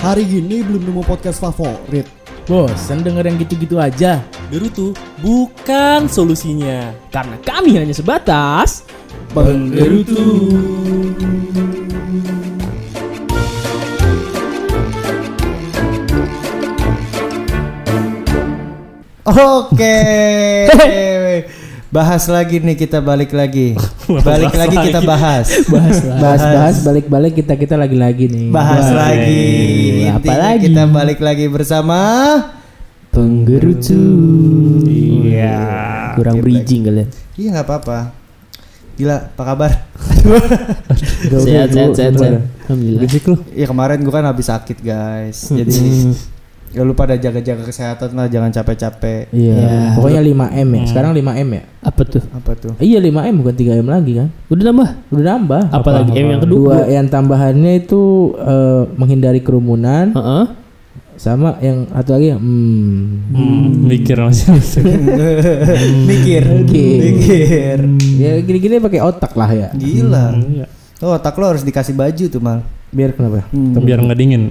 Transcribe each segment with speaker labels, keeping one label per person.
Speaker 1: Hari gini belum nemu podcast favorit.
Speaker 2: Bosan denger yang gitu-gitu aja.
Speaker 3: Gerutu bukan solusinya.
Speaker 2: Karena kami hanya sebatas
Speaker 1: Penggerutu.
Speaker 4: Oke. Bahas lagi nih, kita balik lagi. Balik lagi kita bahas.
Speaker 2: bahas balik-balik kita lagi nih.
Speaker 4: Bahas lagi.
Speaker 2: Apa
Speaker 4: Intinya
Speaker 2: lagi?
Speaker 4: kita balik lagi bersama
Speaker 2: Penggerutu.
Speaker 4: Iya.
Speaker 2: Kurang bridging kalian.
Speaker 4: Iya enggak apa-apa. Gila, apa kabar?
Speaker 2: Sehat.
Speaker 4: Gimana?
Speaker 2: Alhamdulillah.
Speaker 3: Berisik lu.
Speaker 4: Ya kemarin gua kan habis sakit, guys. Jadi ya lu pada jaga-jaga kesehatan lah, jangan capek-capek.
Speaker 2: Iya. Pokoknya 5M ya. Sekarang 5M ya.
Speaker 3: Apa tuh?
Speaker 4: Apa tuh?
Speaker 2: Iya 5M bukan 3M lagi kan?
Speaker 3: Udah nambah?
Speaker 2: Udah nambah.
Speaker 3: Apa lagi? M yang kedua.
Speaker 2: Dua yang tambahannya itu menghindari kerumunan.
Speaker 3: Heeh.
Speaker 2: Sama yang satu lagi
Speaker 3: Mikir masih.
Speaker 4: Mikir.
Speaker 2: Ya gini-gini pakai otak lah ya.
Speaker 4: Gila. Oh, otak lo harus dikasih baju tuh, Mal.
Speaker 2: Biar kenapa?
Speaker 3: Biar nggak dingin.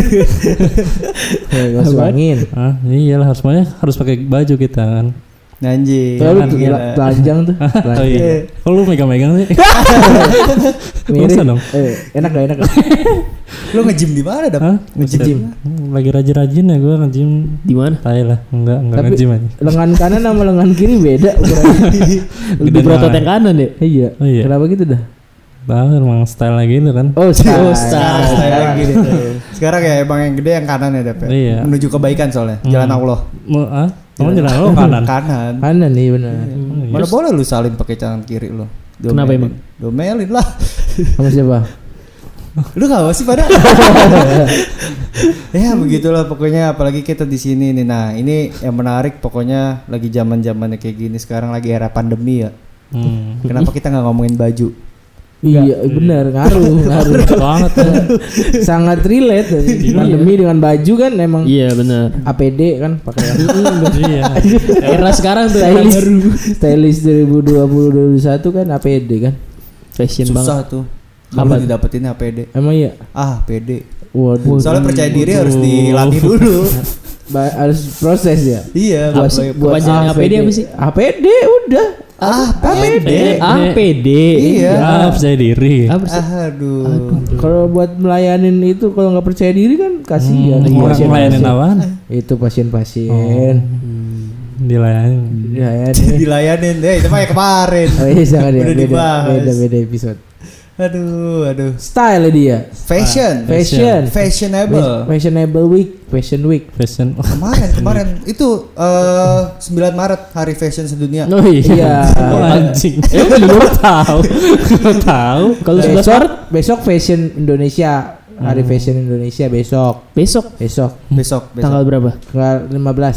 Speaker 2: Gas angin.
Speaker 3: Ah, iyalah harus pakai baju kita kan.
Speaker 4: Anjing.
Speaker 2: Kalau
Speaker 4: Kan gila.
Speaker 2: telanjang tuh.
Speaker 3: Oh iya. Kok lu megang-megang sih?
Speaker 2: Mirip.
Speaker 3: Usah dong.
Speaker 2: Enak gak?
Speaker 4: Lo nge-gym di mana, Dap?
Speaker 3: Hah?
Speaker 2: Nge-gym.
Speaker 3: Lagi rajin-rajin ya gue nge-gym.
Speaker 2: Di mana?
Speaker 3: Tai lah, enggak
Speaker 2: Tapi
Speaker 3: nge-gym aja.
Speaker 2: lengan kanan sama lengan kiri beda.
Speaker 3: Lebih berotot yang
Speaker 2: kanan ya? Iya.
Speaker 3: Oh iya.
Speaker 2: Kenapa gitu dah?
Speaker 3: Tahu emang style lagi gitu kan.
Speaker 2: Oh,
Speaker 4: Sekarang
Speaker 2: style.
Speaker 4: gini tuh. Sekarang ya emang yang gede yang kanan ya, Dap. ya?
Speaker 3: Iya.
Speaker 4: Menuju kebaikan soalnya. Jalan Allah.
Speaker 3: Kamu jalan lo kanan.
Speaker 4: Kanan.
Speaker 2: Kanan nih benar.
Speaker 4: Mana boleh lu salin pakai tangan kiri lo.
Speaker 3: Kenapa emang?
Speaker 4: Domelin lah.
Speaker 2: Sama siapa?
Speaker 4: Lu enggak sih pada? Ya begitulah pokoknya, apalagi kita di sini nih. Nah, ini yang menarik pokoknya lagi zaman-zamannya kayak gini, sekarang lagi era pandemi ya. Kenapa kita nggak ngomongin baju?
Speaker 2: Iya benar, ngaruh
Speaker 3: Banget ya.
Speaker 2: sangat relate dari pandemi dengan baju kan emang.
Speaker 5: Iya benar.
Speaker 2: APD kan pakai
Speaker 3: Iya.
Speaker 5: Era sekarang tuh
Speaker 2: stylist 2020-2021 kan APD kan.
Speaker 5: fashion banget.
Speaker 4: Susah tuh. Apa didapetin APD?
Speaker 2: Emang iya.
Speaker 4: Ah, PD.
Speaker 2: Waduh.
Speaker 4: Soalnya percaya diri harus dilatih dulu.
Speaker 2: Harus proses ya.
Speaker 4: Iya,
Speaker 2: Buat
Speaker 5: Kepanjangan APD apa sih?
Speaker 2: APD udah.
Speaker 4: APD.
Speaker 5: APD.
Speaker 4: Iya.
Speaker 3: Ah, percaya diri.
Speaker 4: Aduh.
Speaker 2: Kalau buat melayanin itu kalau nggak percaya diri kan kasihan.
Speaker 3: Orang melayanin apaan?
Speaker 2: Itu pasien-pasien.
Speaker 3: Dilayani.
Speaker 4: Dilayanin deh, itu mah ya kemarin.
Speaker 2: Oh iya jangan ya.
Speaker 4: Udah dibahas.
Speaker 2: Beda episode.
Speaker 4: Aduh.
Speaker 2: Style dia.
Speaker 4: Fashion.
Speaker 2: Fashionable week. Fashion
Speaker 4: Kemarin itu 9 Maret Hari Fashion Sedunia.
Speaker 2: Oh iya.
Speaker 3: Anjing. Lu tahu.
Speaker 2: Kalau besok Fashion Indonesia. Hari Fashion Indonesia besok.
Speaker 5: Besok. Tanggal berapa?
Speaker 2: Tanggal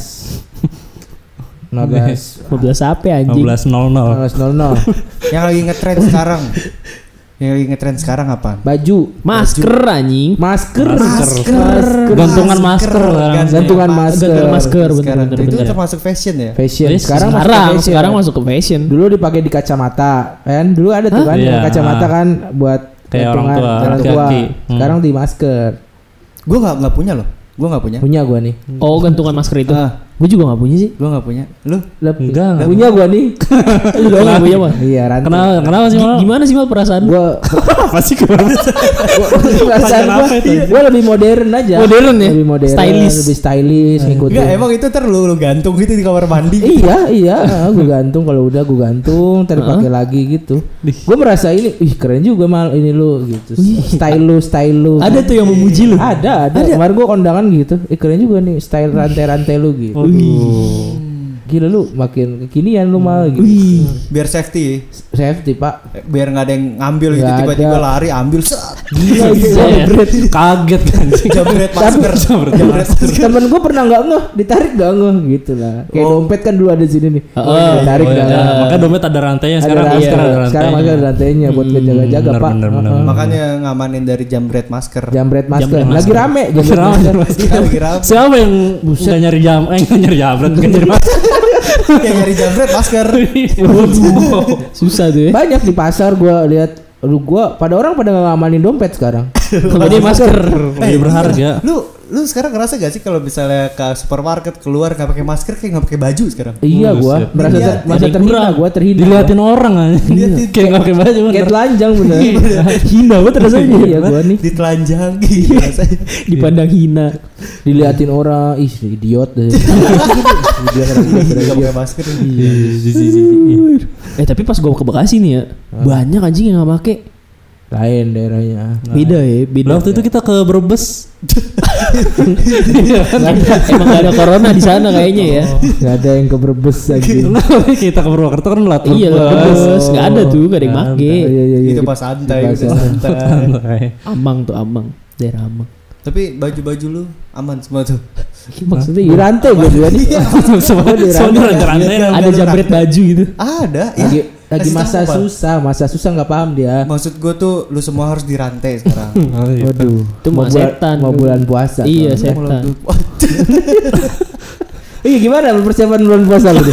Speaker 2: 15
Speaker 5: apa anjing?
Speaker 3: 15.00.
Speaker 2: 15.00.
Speaker 4: Yang lagi ngetrend sekarang apa?
Speaker 2: Baju,
Speaker 5: Masker anjing.
Speaker 2: masker.
Speaker 3: Gantungan masker.
Speaker 2: Gantungan masker.
Speaker 5: Bener.
Speaker 4: Itu termasuk fashion ya?
Speaker 2: Fashion.
Speaker 5: Sekarang masuk ke fashion.
Speaker 2: Dulu dipakai di kacamata, kan? Dulu ada tuh kan
Speaker 3: Iya.
Speaker 2: kacamata kan buat
Speaker 3: Kayak orang
Speaker 2: gantungan
Speaker 3: tua,
Speaker 2: orang tua.
Speaker 3: laki-laki.
Speaker 2: Sekarang di masker.
Speaker 4: Gue nggak punya loh.
Speaker 2: Punya gua nih.
Speaker 5: Oh, gantungan masker itu. Gue juga nggak punya sih.
Speaker 4: Gue nggak punya. Lu?
Speaker 3: Enggak.
Speaker 2: Punya gua nih.
Speaker 5: Lu doang nggak punya mah.
Speaker 2: Iya, rantai.
Speaker 3: Kenapa sih Mal?
Speaker 5: Gimana sih Mal perasaan?
Speaker 2: Gua
Speaker 3: Apa sih kemarin?
Speaker 2: perasaan gua lebih modern aja.
Speaker 5: Modern ya?
Speaker 2: Lebih modern,
Speaker 5: Stylish.
Speaker 2: lebih stylish ngikutin.
Speaker 4: Enggak, emang itu lu gantung gitu di kamar mandi.
Speaker 2: Iya, gue gantung kalau udah gue gantung, ntar pakai lagi gitu. Gue merasa ini, keren juga Mal ini lu gitu. Style lu.
Speaker 5: Ada tuh yang memuji lu.
Speaker 2: Ada. Kemarin gue kondangan gitu. Keren juga nih style rantai-rantai lu gitu. Gila lu makin kekinian lu Mal gitu.
Speaker 4: Biar safety.
Speaker 2: Safety Pak.
Speaker 4: Biar nggak ada yang ngambil gitu,
Speaker 2: Nggak
Speaker 4: tiba-tiba
Speaker 2: ada.
Speaker 4: lari ambil
Speaker 2: Gila
Speaker 3: Kaget kan.
Speaker 4: jambret masker.
Speaker 2: Temen gue pernah nggak ngeh, ditarik nggak ngeh gitu lah. Kayak dompet kan dulu ada di sini nih. Ditarik nggak ngeh.
Speaker 3: Maka dompet ada rantainya sekarang.
Speaker 2: Sekarang masih ada rantainya buat ngejaga-jaga Pak.
Speaker 3: Bener.
Speaker 4: Makanya ngamanin dari jambret masker.
Speaker 2: Jambret masker. Lagi rame
Speaker 4: Lagi rame.
Speaker 3: Siapa yang nggak nyari nggak nyari jambret, nggak nyari masker?
Speaker 4: Yang nyari jambret masker.
Speaker 5: Susah tuh ya.
Speaker 2: Banyak di pasar gue lihat. Pada orang pada ngamanin dompet sekarang.
Speaker 5: Kemudian masker.
Speaker 3: Lebih berharga.
Speaker 4: Lu sekarang ngerasa gak sih kalau misalnya ke supermarket keluar nggak pakai masker kayak nggak pakai baju sekarang?
Speaker 2: Iya gua
Speaker 3: Buset.
Speaker 2: merasa
Speaker 4: Iya,
Speaker 2: merasa
Speaker 5: jadi
Speaker 2: terhina,
Speaker 5: kurang.
Speaker 2: gua terhina.
Speaker 3: Diliatin orang aja. Kayak nggak pakai baju
Speaker 2: Kayak
Speaker 3: bener.
Speaker 2: telanjang bener.
Speaker 5: Hina banget rasanya.
Speaker 2: Iya gua nih
Speaker 4: Ditelanjangi rasanya.
Speaker 5: Dipandang hina.
Speaker 2: diliatin orang, ih idiot deh.
Speaker 4: Nggak pakai masker.
Speaker 5: Tapi pas gua ke Bekasi nih ya, banyak anjing yang nggak make.
Speaker 2: Lain daerahnya.
Speaker 5: Beda ya, beda.
Speaker 3: Waktu itu kita ke Brebes.
Speaker 5: Emang gak ada corona di sana kayaknya ya.
Speaker 2: Gak ada yang ke Brebes lagi.
Speaker 3: Kita ke Purwokerto kan lat
Speaker 5: Iya lah,
Speaker 3: Brebes.
Speaker 5: nggak ada tuh, gak ada yang make.
Speaker 2: Iya.
Speaker 4: Itu pas santai,
Speaker 2: Pas
Speaker 4: udah santai.
Speaker 3: Santai.
Speaker 5: Amang tuh Amang, daerah Amang.
Speaker 4: Tapi baju-baju lu aman semua tuh.
Speaker 5: Maksudnya
Speaker 2: Di rantai gue juga nih.
Speaker 3: Semua
Speaker 2: di
Speaker 3: rantai.
Speaker 5: ada jambret baju gitu.
Speaker 4: Ada, ya.
Speaker 2: Lagi
Speaker 4: Kasih
Speaker 2: masa
Speaker 4: tahu, Pak.
Speaker 2: susah nggak paham dia.
Speaker 4: Maksud gue tuh lu semua harus dirantai sekarang.
Speaker 2: Waduh,
Speaker 5: Itu mah setan.
Speaker 2: mau bulan puasa.
Speaker 5: Iya,
Speaker 2: soalnya.
Speaker 5: setan.
Speaker 2: Iya gimana persiapan bulan puasa lu?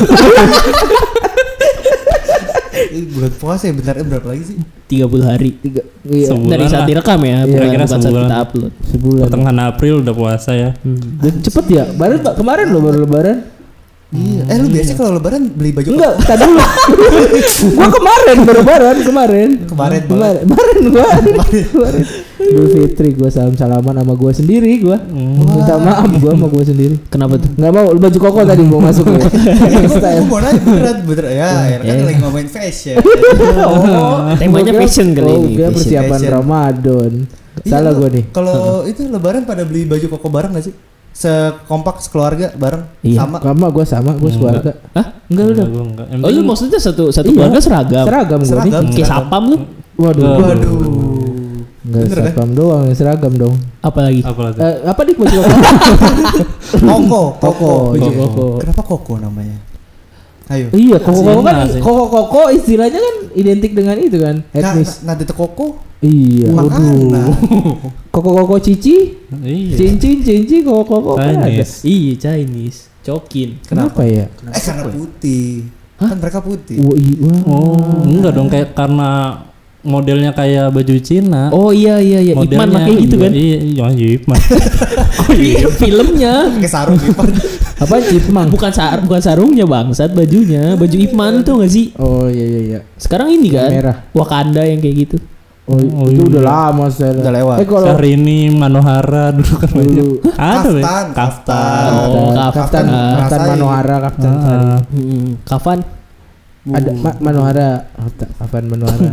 Speaker 4: Bulan puasa ya bentar berapa lagi sih?
Speaker 5: 30 hari.
Speaker 2: Iya,
Speaker 3: Sebulan
Speaker 5: Dari saat
Speaker 3: lah.
Speaker 5: direkam ya,
Speaker 2: Iya,
Speaker 5: bukan
Speaker 3: kira
Speaker 5: saat
Speaker 3: sebulan.
Speaker 5: kita upload.
Speaker 2: sebulan.
Speaker 3: Pertengahan April udah puasa ya.
Speaker 2: Dan cepet ya. Kemarin lo baru lebaran.
Speaker 4: Iya. Lu biasa kalau lebaran beli baju
Speaker 2: Enggak, tadi dulu. Gua kemarin baru lebaran kemarin.
Speaker 4: Kemarin.
Speaker 2: Kemarin gua. Idul Fitri gua salaman sama gua sendiri gua. Minta maaf gua sama gua sendiri.
Speaker 5: Kenapa tuh?
Speaker 2: Enggak mau baju koko tadi mau masuk ya.
Speaker 4: Gue mau nanya beneran ya, kan lagi ngomongin fashion.
Speaker 5: Temanya
Speaker 2: Gua kira-
Speaker 5: fashion kali
Speaker 2: oh,
Speaker 5: ini,
Speaker 2: gua
Speaker 5: fashion.
Speaker 2: persiapan
Speaker 4: Fashion.
Speaker 2: Ramadan.
Speaker 4: Iya,
Speaker 2: Salah
Speaker 4: lu-
Speaker 2: gua nih.
Speaker 4: Kalau itu lebaran pada beli baju koko bareng gak sih? Sekompak sekeluarga bareng
Speaker 5: Iya.
Speaker 4: sama.
Speaker 2: Sama gua sekeluarga.
Speaker 5: Hah?
Speaker 2: Enggak udah.
Speaker 3: Gua enggak. Yang
Speaker 5: Oh lu
Speaker 3: penting-
Speaker 5: maksudnya satu
Speaker 2: Iya.
Speaker 5: keluarga seragam?
Speaker 2: Seragam gua nih.
Speaker 4: Seragam.
Speaker 5: Kayak sapam lu?
Speaker 2: Waduh.
Speaker 4: Waduh.
Speaker 2: Enggak
Speaker 4: Bener, kan?
Speaker 2: satpam doang, seragam dong.
Speaker 5: Apalagi?
Speaker 3: apa lagi?
Speaker 2: Apa nih baju koko?
Speaker 4: Koko.
Speaker 2: Baju
Speaker 5: Iya.
Speaker 2: koko.
Speaker 4: Kenapa koko namanya? Ayo.
Speaker 2: Iya, koko kan
Speaker 3: Cina sih.
Speaker 2: koko istilahnya kan identik dengan itu kan, etnis.
Speaker 4: Nada koko.
Speaker 2: Iya.
Speaker 4: Makanan.
Speaker 2: Koko cici,
Speaker 3: Iya.
Speaker 2: cincin, koko kan ada.
Speaker 3: Chinese.
Speaker 5: Iya Chinese. Cokin.
Speaker 2: Kenapa ya?
Speaker 4: Karena putih. Kan mereka putih.
Speaker 2: Wah.
Speaker 3: Oh, enggak dong kayak karena modelnya kayak baju Cina.
Speaker 5: Oh iya Ipman pakai gitu kan?
Speaker 3: Iya, Ipman.
Speaker 5: Filmnya.
Speaker 4: Pakai sarung Ipan.
Speaker 2: Apa cipmang?
Speaker 5: Bukan sarungnya bangsat, bajunya. Baju Ipman tuh gak sih?
Speaker 2: Oh iya.
Speaker 5: Sekarang ini kan
Speaker 2: Merah.
Speaker 5: Wakanda yang kayak gitu.
Speaker 2: Oh,
Speaker 3: Oh,
Speaker 2: itu
Speaker 3: iya.
Speaker 2: udah lama saya.
Speaker 4: Udah lewat.
Speaker 2: Kalau
Speaker 3: Syahrini, Manohara dulu kan banyak.
Speaker 2: dulu
Speaker 3: Ada Be.
Speaker 4: Kaftan.
Speaker 3: Kaftan.
Speaker 5: Oh,
Speaker 2: Kaftan
Speaker 4: ngerasain.
Speaker 2: Manohara, Kaftan Sari.
Speaker 3: Ah.
Speaker 5: Kapan?
Speaker 2: Ada Manohara, Kaftan Manohara.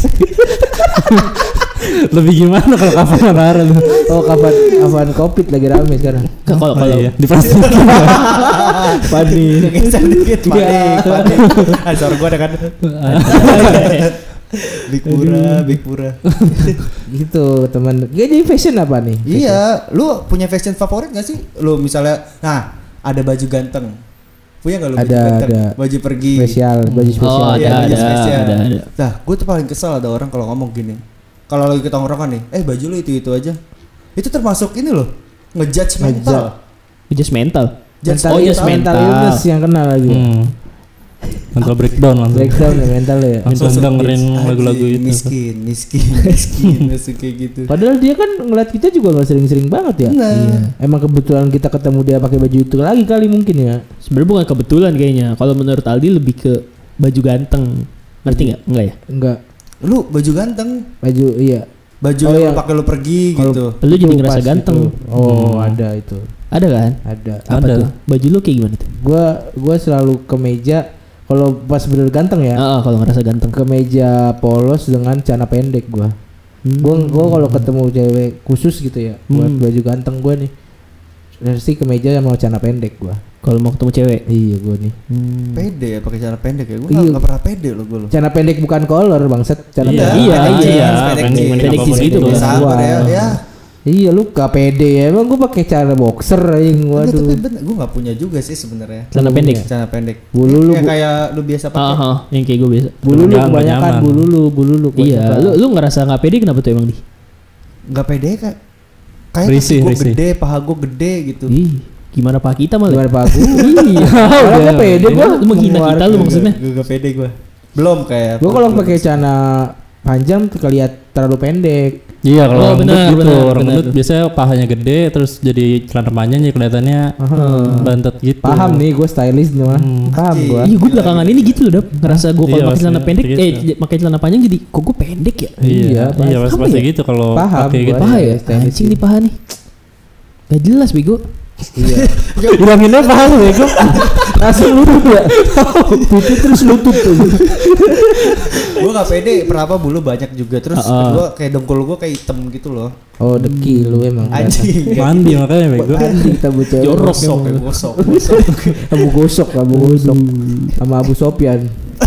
Speaker 3: Lebih gimana kalau Kaftan Manohara tuh?
Speaker 2: Oh, Kaftan Covid lagi rame sekarang.
Speaker 5: Kalau
Speaker 3: Oh, iya. Di plastik.
Speaker 2: Panik.
Speaker 4: Geser dikit. Panik. Suara gue ada kan. Big Pura.
Speaker 2: Gitu teman. Gak jadi fashion apa nih?
Speaker 4: Iya, lu punya fashion favorit gak sih? Lu misalnya, nah ada baju ganteng. Punya gak lu baju
Speaker 2: Ada,
Speaker 4: ganteng?
Speaker 2: ada.
Speaker 4: Baju pergi.
Speaker 2: Spesial, baju spesial.
Speaker 5: Oh,
Speaker 4: Iya, baju spesial.
Speaker 5: ada.
Speaker 4: Nah, gue tuh paling kesel ada orang kalau ngomong gini. Kalau lagi kita tongkrongan nih, baju lu itu aja. Itu termasuk ini loh, ngejudge mental.
Speaker 5: Just mental.
Speaker 4: Judge
Speaker 5: Oh, yes,
Speaker 2: mental
Speaker 5: mental.
Speaker 2: illness yang kena lagi.
Speaker 3: Mental breakdown langsung.
Speaker 2: Breakdown ya mental ya.
Speaker 3: Langsung dengerin
Speaker 4: Anjing,
Speaker 3: lagu-lagu itu.
Speaker 4: miskin, masuk kayak gitu.
Speaker 2: Padahal dia kan ngeliat kita juga nggak sering-sering banget ya.
Speaker 4: Nah.
Speaker 2: Iya. Emang kebetulan kita ketemu dia pakai baju itu lagi kali mungkin ya.
Speaker 5: Sebenarnya bukan kebetulan kayaknya. Kalau menurut Aldi lebih ke baju ganteng. Ngerti nggak? Enggak ya?
Speaker 2: Enggak.
Speaker 4: Lu baju ganteng,
Speaker 2: Baju iya.
Speaker 4: baju
Speaker 2: Oh,
Speaker 4: yang
Speaker 2: iya.
Speaker 4: lu pakai lu pergi
Speaker 2: Kalau-
Speaker 4: gitu.
Speaker 5: Lu jadi
Speaker 2: Itu
Speaker 5: ngerasa
Speaker 2: pas
Speaker 5: ganteng.
Speaker 2: itu. Oh, ada itu.
Speaker 5: Ada kan?
Speaker 2: Ada.
Speaker 5: Apa
Speaker 3: Ada.
Speaker 5: tuh? Baju lu kayak gimana tuh?
Speaker 2: Gua selalu ke meja kalau pas bener ganteng ya.
Speaker 5: Kalau ngerasa ganteng.
Speaker 2: Ke meja polos dengan celana pendek gua. Gua kalau ketemu cewek khusus gitu ya, buat baju ganteng gua nih. Pasti ke meja sama celana pendek gua.
Speaker 5: Kalau mau ketemu cewek.
Speaker 2: Iya gua nih.
Speaker 4: Pede ya pakai celana pendek ya. Gue
Speaker 2: Iya.
Speaker 4: nggak pernah pede lo gue lo.
Speaker 2: Celana pendek bukan collar bangsat, celana
Speaker 3: Iya,
Speaker 2: pendek.
Speaker 5: Iya,
Speaker 3: pendek
Speaker 5: iya.
Speaker 3: jeans,
Speaker 4: Pendek
Speaker 3: pendek
Speaker 4: jeans.
Speaker 5: Pendek jeans gitu,
Speaker 3: Bang.
Speaker 5: Bang.
Speaker 4: Sabar ya. Ya.
Speaker 2: Iya lu gak pede ya, emang gua pakai celana boxer aing.
Speaker 4: Enggak,
Speaker 2: Waduh.
Speaker 4: tapi bener, gue nggak punya juga sih sebenarnya.
Speaker 5: Celana pendek.
Speaker 4: Celana pendek.
Speaker 2: Bulu lu,
Speaker 4: Ya, kayak lu biasa pakai.
Speaker 5: Yang kayak gue biasa.
Speaker 2: bulu lu
Speaker 3: Nggak
Speaker 2: kebanyakan,
Speaker 3: nyaman.
Speaker 2: bulu lu
Speaker 5: Iya,
Speaker 2: kebanyakan.
Speaker 5: lu ngerasa nggak pede kenapa tuh emang di?
Speaker 4: Nggak pede kak. Kayak
Speaker 3: Risih,
Speaker 4: gue
Speaker 3: risih.
Speaker 4: gede, paha gue gede gitu.
Speaker 5: Ih, gimana Pak kita malah?
Speaker 2: Gimana Pak Aku?
Speaker 5: Iya,
Speaker 2: Kalau gua pede gua
Speaker 5: Lu menghina kita lu maksudnya?
Speaker 4: Gue nggak pede gue. Belum kayak.
Speaker 2: Gua kalau pakai celana panjang tuh kelihatan terlalu pendek.
Speaker 3: Iya kalau
Speaker 5: Oh,
Speaker 3: orang
Speaker 5: benar,
Speaker 3: gendut gitu,
Speaker 5: benar,
Speaker 3: orang
Speaker 5: benar
Speaker 3: gendut
Speaker 5: tuh.
Speaker 3: biasanya pahanya gede terus jadi celana panjang jadi kelihatannya bantet gitu.
Speaker 2: Paham nih gue stylish nih mah. Paham gue.
Speaker 5: Iya, gue belakangan ini gitu loh, Dap. Ngerasa gue kalau
Speaker 3: Iya,
Speaker 5: pakai celana
Speaker 3: pasti
Speaker 5: pendek,
Speaker 3: gitu.
Speaker 5: pakai celana panjang jadi kok gue pendek ya?
Speaker 3: Iya,
Speaker 2: Iya,
Speaker 3: pasti
Speaker 5: paham ya?
Speaker 3: gitu kalau
Speaker 2: Paham
Speaker 3: pakai
Speaker 2: gua.
Speaker 3: gitu.
Speaker 5: Paha
Speaker 2: Iya,
Speaker 5: ya?
Speaker 2: stylish
Speaker 5: Anjing nih paha nih. Gak jelas bego.
Speaker 3: Bilanginnya paham ya kok.
Speaker 2: Langsung lutut ya. Putih terus lutut tuh.
Speaker 4: Gue gak pede, kenapa bulu banyak juga. Terus kedua kayak dengkul gue kayak hitam gitu loh.
Speaker 2: Oh deki lu emang.
Speaker 4: Anjing.
Speaker 3: Mandi makanya bego.
Speaker 2: Anjing kita bocah.
Speaker 5: Jorok
Speaker 4: Gosok ya,
Speaker 5: emang.
Speaker 4: gosok.
Speaker 2: Abu gosok sama Abu Sofyan.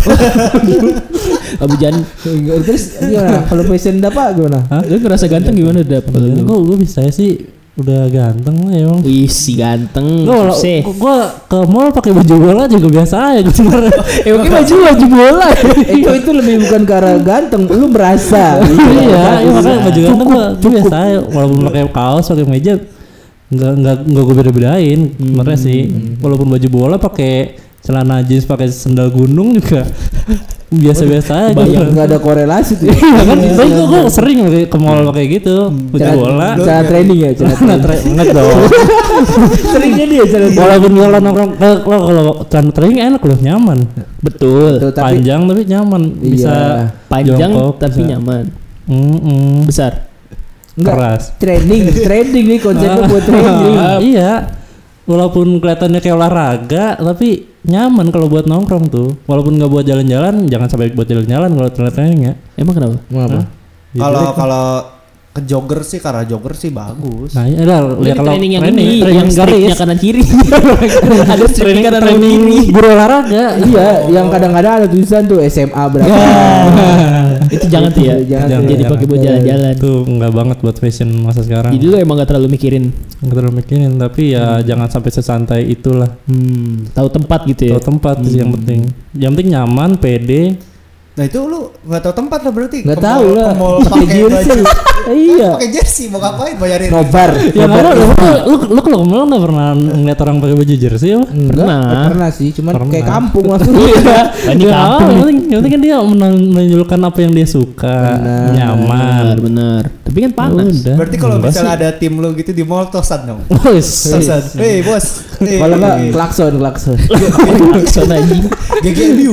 Speaker 5: Abu Jan.
Speaker 2: Terus gimana? Kalau fashion apa gimana?
Speaker 5: Lu ngerasa ganteng gimana, Dap?
Speaker 3: Gue bisa sih udah ganteng lah emang.
Speaker 5: Wih, si ganteng.
Speaker 3: Gue ke mall pakai baju bola juga biasa aja sebenarnya.
Speaker 2: Mungkin baju bola. itu lebih bukan karena ganteng, lu merasa.
Speaker 3: Iya, makanya baju ganteng gue biasa aja. Walaupun pakai kaos, pakai meja, nggak gue beda-bedain. Sebenarnya sih, walaupun baju bola pakai celana jeans, pakai sendal gunung juga biasa-biasa aja.
Speaker 2: Nggak ada korelasi tuh.
Speaker 3: Iya kan, tapi gue sering ke mall pakai gitu, baju bola.
Speaker 2: Cara training ya,
Speaker 3: Enggak dong.
Speaker 2: Seringnya dia cara
Speaker 3: Walaupun kalau nongkrong kalau celana training enak loh, nyaman.
Speaker 5: Betul.
Speaker 3: Panjang tapi nyaman, bisa
Speaker 5: Panjang
Speaker 3: jongkok,
Speaker 5: tapi
Speaker 3: bisa.
Speaker 5: nyaman. Besar.
Speaker 3: Keras.
Speaker 2: Training nih konsepnya buat training.
Speaker 3: Iya. Walaupun kelihatannya kayak olahraga, tapi nyaman kalau buat nongkrong tuh. Walaupun nggak buat jalan-jalan, jangan sampai buat jalan-jalan kalau training ya.
Speaker 5: Emang kenapa?
Speaker 2: Apa?
Speaker 4: Kalau ke jogger sih, karena jogger sih bagus.
Speaker 3: Nah, ya lihat kalau
Speaker 5: training yang
Speaker 3: training,
Speaker 5: ini,
Speaker 3: training
Speaker 5: yang
Speaker 3: garis,
Speaker 5: striknya kanan kiri. Ada striknya kanan
Speaker 3: training
Speaker 5: kiri.
Speaker 3: guru olahraga.
Speaker 2: Iya, yang kadang-kadang ada tulisan tuh SMA berapa.
Speaker 5: Itu jangan tuh ya.
Speaker 2: Jangan
Speaker 5: Jadi
Speaker 3: jangan.
Speaker 5: pakai buat jalan-jalan.
Speaker 3: Itu nggak banget buat fashion masa sekarang.
Speaker 5: Jadi lu emang gak terlalu mikirin.
Speaker 3: Nggak terlalu mikirin, tapi ya jangan sampai sesantai itulah.
Speaker 5: Tahu tempat gitu ya.
Speaker 3: Tahu tempat sih yang penting. Yang penting nyaman, pede.
Speaker 4: Nah itu lu nggak tahu tempat lah berarti.
Speaker 2: Nggak
Speaker 4: Ke
Speaker 2: tahu
Speaker 4: mall-
Speaker 2: lah.
Speaker 4: ke mall
Speaker 2: Pakai
Speaker 4: pakai
Speaker 2: jersey.
Speaker 4: baju.
Speaker 2: Iya.
Speaker 4: Pakai jersey mau ngapain bayarin?
Speaker 2: Nobar.
Speaker 3: Ya nggak ada. Lu kalau ke mall nggak pernah ngeliat orang pakai baju jersey apa?
Speaker 2: Pernah sih, cuman
Speaker 3: Pernah.
Speaker 2: kayak kampung langsung.
Speaker 5: Ini kampung.
Speaker 3: Yang penting kan dia menunjukkan apa yang dia suka, nyaman.
Speaker 5: Benar. Tapi kan panas.
Speaker 3: Udah.
Speaker 4: Berarti kalau
Speaker 3: Enggak
Speaker 4: misalnya
Speaker 3: sih.
Speaker 4: ada tim lu gitu di mall tosan dong.
Speaker 3: Wes.
Speaker 4: Tosan. Hei bos. Hey,
Speaker 2: Kalau enggak klakson.
Speaker 5: Klakson anjing.
Speaker 4: GGMU.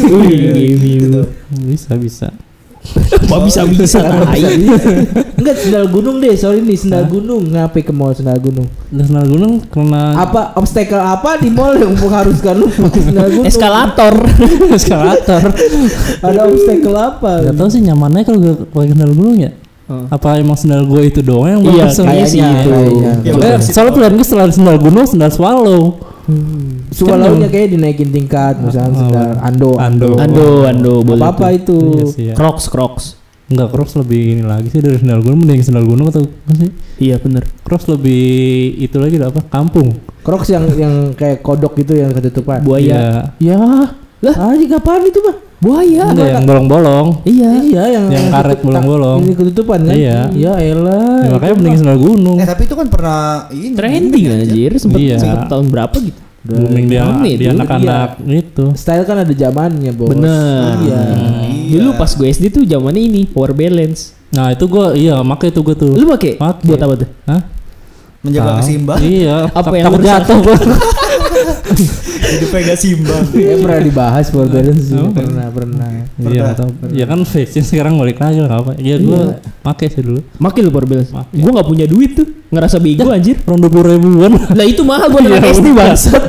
Speaker 5: Gitu.
Speaker 3: Bisa.
Speaker 5: Kok bisa tai.
Speaker 2: Enggak sendal gunung deh, sorry nih sendal gunung. Ngapain ke mall sendal gunung?
Speaker 3: Dan sendal gunung karena
Speaker 2: Apa obstacle apa di mall yang mengharuskan lu pakai sendal gunung?
Speaker 5: Eskalator.
Speaker 3: eskalator.
Speaker 2: Ada obstacle apa?
Speaker 3: Gak tau sih nyamannya kalau gue pakai sendal gunung ya. Apa emang sendal gue itu doang yang
Speaker 5: Iya,
Speaker 3: bagus?
Speaker 5: kayaknya sih itu.
Speaker 2: kayaknya.
Speaker 4: Ya,
Speaker 3: Makanya
Speaker 4: betul sih.
Speaker 3: soalnya pilihan gue setelah sendal gunung, sendal swallow.
Speaker 2: Swallow-nya kayak dinaikin tingkat, misalnya sendal Ando.
Speaker 5: Boleh.
Speaker 2: Apa
Speaker 5: tuh.
Speaker 2: itu?
Speaker 3: Iya sih ya.
Speaker 5: Crocs.
Speaker 3: Enggak, Crocs lebih ini lagi sih dari sendal gunung, mending sendal gunung atau apa sih?
Speaker 5: Iya benar.
Speaker 3: Crocs lebih itu lagi apa? Kampung.
Speaker 2: Crocs yang kayak kodok gitu yang ketutupan.
Speaker 5: Buaya.
Speaker 3: Ya.
Speaker 2: Lah, anjing kapan itu, Bang?
Speaker 5: Buaya.
Speaker 3: Enggak yang bolong-bolong.
Speaker 5: Iya.
Speaker 2: Iya, yang
Speaker 3: karet bolong-bolong.
Speaker 2: Ini ketutupan kan?
Speaker 3: Iya.
Speaker 2: Ya elah.
Speaker 3: Ya, makanya mending sendal gunung.
Speaker 4: tapi itu kan pernah ini
Speaker 5: Trending anjir sempet
Speaker 3: Iya.
Speaker 5: tahun berapa gitu.
Speaker 3: Booming dia
Speaker 5: Rame
Speaker 3: di
Speaker 5: tuh,
Speaker 3: anak-anak itu.
Speaker 2: Style kan ada zamannya, Bos.
Speaker 5: Bener.
Speaker 2: Iya.
Speaker 5: Dulu pas gue SD tuh zamannya ini power balance.
Speaker 3: Nah, itu gua make itu gua tuh.
Speaker 5: Lu pakai?
Speaker 3: Pakai.
Speaker 5: Buat apa tuh?
Speaker 3: Hah?
Speaker 4: menjaga
Speaker 3: Tahu.
Speaker 4: keseimbangan.
Speaker 3: Iya.
Speaker 5: Apa yang
Speaker 3: takut
Speaker 5: rusak?
Speaker 3: jatuh gua.
Speaker 4: Hidupnya gak seimbang.
Speaker 2: Ya pernah dibahas power balance sih.
Speaker 3: Oh.
Speaker 2: Pernah.
Speaker 3: Iya, nggak tahu. Ya kan fashion sekarang balik lagi lah apa. Iya, gua pakai sih dulu.
Speaker 5: Makin lu power balance.
Speaker 3: Pakai.
Speaker 5: Gue gak punya duit tuh. Ngerasa bego anjir.
Speaker 3: Orang 20 ribuan.
Speaker 5: Lah itu mahal buat anak SD bangsat.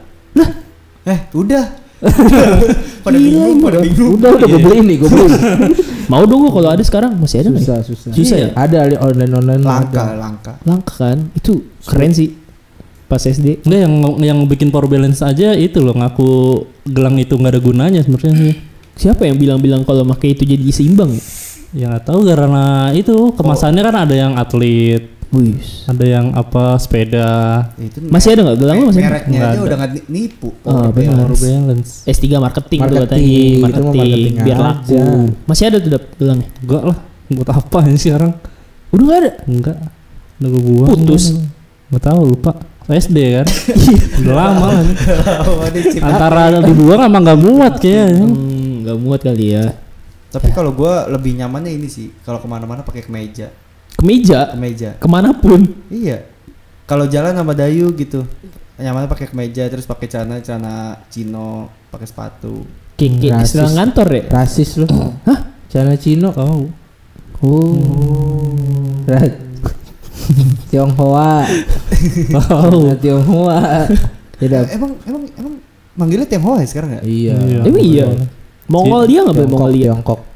Speaker 4: Udah. Pada bingung.
Speaker 2: Udah gue beliin nih, gue beliin.
Speaker 5: Mau dong gue kalau ada sekarang masih ada nggak? ya?
Speaker 2: Susah.
Speaker 5: Susah ya?
Speaker 2: Ada online
Speaker 4: Langka.
Speaker 5: Langka kan? Itu keren sih. Pas SD.
Speaker 3: Enggak, yang bikin power balance aja itu loh, ngaku gelang itu nggak ada gunanya sebenarnya sih.
Speaker 5: Siapa yang bilang-bilang kalau pakai itu jadi seimbang ya?
Speaker 3: Ya nggak tahu, karena itu kemasannya kan ada yang atlet,
Speaker 5: Wih.
Speaker 3: ada yang apa sepeda.
Speaker 4: Itu
Speaker 5: Masih ada nggak gelang lu masih? ada?
Speaker 4: mereknya
Speaker 3: Nggak
Speaker 4: aja
Speaker 3: ada.
Speaker 4: udah nggak nipu.
Speaker 5: Oh, benar.
Speaker 3: Power balance.
Speaker 5: S3 marketing tuh
Speaker 2: Marketing,
Speaker 5: katanya,
Speaker 2: itu mah
Speaker 5: marketing
Speaker 2: marketing
Speaker 5: biar
Speaker 2: aja.
Speaker 5: laku. Masih ada tuh gelangnya?
Speaker 3: Enggak lah, buat apa ini sekarang?
Speaker 5: Udah nggak ada.
Speaker 3: Enggak. Udah gue buang.
Speaker 5: Putus.
Speaker 3: Enggak tahu, lupa. SD kan. Udah lama kan.
Speaker 4: Antara.
Speaker 3: Antara dibuang sama nggak muat kayaknya.
Speaker 5: Nggak muat kali ya.
Speaker 4: Tapi kalau gue lebih nyamannya ini sih, kalau kemana-mana pakai kemeja. Kemeja.
Speaker 5: Kemanapun.
Speaker 4: Iya. Kalau jalan sama Dayu gitu, nyamannya pakai kemeja terus pakai celana chino, pakai sepatu.
Speaker 5: Kayak
Speaker 2: Rasis.
Speaker 5: istilah ngantor ya.
Speaker 2: Rasis lu. Hah? Celana Cino.
Speaker 3: Oh.
Speaker 2: Tionghoa. Tionghoa. Tidak.
Speaker 4: Emang manggilnya Tionghoa ya sekarang nggak?
Speaker 2: Iya.
Speaker 5: Emang iya. Mongol dia nggak boleh Mongol dia.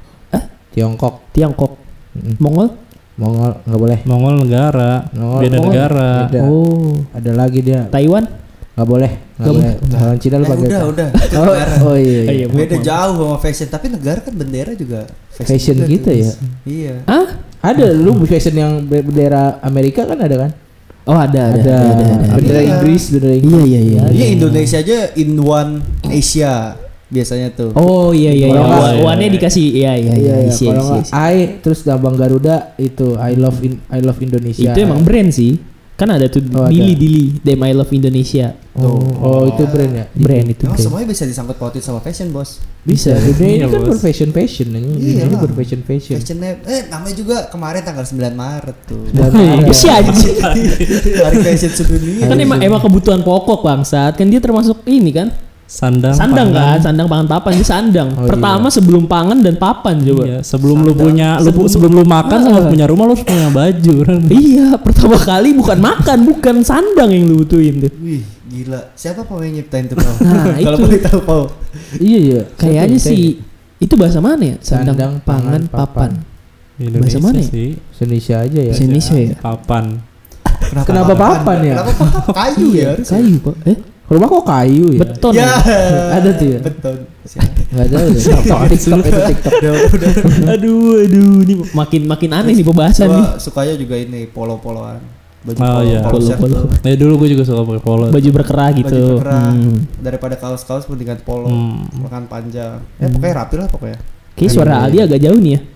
Speaker 2: Tiongkok.
Speaker 5: Mongol
Speaker 2: Nggak boleh.
Speaker 3: Mongol negara. Beda
Speaker 2: Mongol.
Speaker 3: negara.
Speaker 2: Beda. Ada lagi dia.
Speaker 5: Taiwan.
Speaker 2: Nggak boleh. Orang Cina lu pakai.
Speaker 4: Udah.
Speaker 2: Oh iya.
Speaker 4: Beda jauh sama fashion, tapi negara kan bendera juga
Speaker 2: Fashion
Speaker 4: juga
Speaker 2: gitu
Speaker 4: tuh.
Speaker 2: ya.
Speaker 4: Iya.
Speaker 5: Hah?
Speaker 2: Ada lu fashion yang bendera Amerika kan ada kan?
Speaker 5: Oh ada.
Speaker 2: Bendera
Speaker 4: Iya.
Speaker 2: Inggris.
Speaker 5: Iya.
Speaker 4: Iya Indonesia aja in one Asia biasanya tuh.
Speaker 5: Oh iya.
Speaker 2: Kalau nggak-
Speaker 5: Uannya dikasih iya. Isi.
Speaker 2: Kalau nggak I terus lambang Garuda itu I love Indonesia.
Speaker 5: Itu emang brand sih. Kan ada tuh
Speaker 2: Oh, ada.
Speaker 5: Dili, Them I Love Indonesia.
Speaker 2: Oh itu brand ya.
Speaker 5: Brand itu.
Speaker 4: Emang
Speaker 5: brand.
Speaker 4: semuanya bisa disangkut pautin sama fashion bos.
Speaker 2: Bisa. Dunia ini
Speaker 3: Iya,
Speaker 2: kan
Speaker 3: Bos.
Speaker 2: berfashion ini.
Speaker 4: Iya
Speaker 2: Ini
Speaker 4: lah.
Speaker 2: berfashion.
Speaker 4: Fashionnya namanya juga kemarin tanggal 9 Maret tuh.
Speaker 2: Dan
Speaker 5: Apa sih anjing?
Speaker 4: Hari fashion sedunia.
Speaker 5: Kan emang kebutuhan pokok bangsat. Kan dia termasuk ini kan.
Speaker 3: Sandang
Speaker 5: Sandang
Speaker 3: pangan.
Speaker 5: kan, sandang pangan papan dia sandang.
Speaker 2: Oh,
Speaker 5: Pertama sebelum pangan dan papan coba.
Speaker 3: Iya, sebelum lu punya sebelum lu makan sama punya rumah lu harus punya baju.
Speaker 5: Iya, pertama kali bukan makan, bukan sandang yang lu butuhin tuh.
Speaker 4: Wih, gila. Siapa Pau yang nyiptain tuh Pau?
Speaker 5: Nah,
Speaker 4: Kalau
Speaker 5: itu.
Speaker 4: boleh tahu Pau.
Speaker 2: Iya.
Speaker 5: Kayaknya sih itu bahasa mana ya?
Speaker 2: Sandang,
Speaker 5: Sandang, pangan, papan. Bahasa mana ya?
Speaker 3: sih?
Speaker 2: Indonesia aja ya.
Speaker 5: Bahasa Indonesia ya?
Speaker 3: Papan.
Speaker 2: Kenapa papan ya?
Speaker 4: Kenapa papan? Kayu ya harus.
Speaker 5: Kayu, Pak.
Speaker 2: Rumah kok kayu ya?
Speaker 5: Beton.
Speaker 4: Ya.
Speaker 2: Ada tuh ya?
Speaker 4: Beton.
Speaker 2: Nggak tahu deh. TikTok itu TikTok.
Speaker 5: Aduh, ini makin aneh nih pembahasan nih.
Speaker 4: Gua sukanya juga ini polo-poloan. Baju
Speaker 3: Oh, iya.
Speaker 4: shirt
Speaker 5: Polo.
Speaker 4: tuh.
Speaker 3: Dulu gue juga suka pakai polo.
Speaker 5: Baju berkerah gitu.
Speaker 4: Baju berkerah.
Speaker 5: Hmm.
Speaker 4: Daripada kaos-kaos mendingan polo.
Speaker 3: Hmm.
Speaker 4: Makan panjang. Pokoknya rapi lah pokoknya.
Speaker 5: Kayak suara Aldi agak jauh nih ya.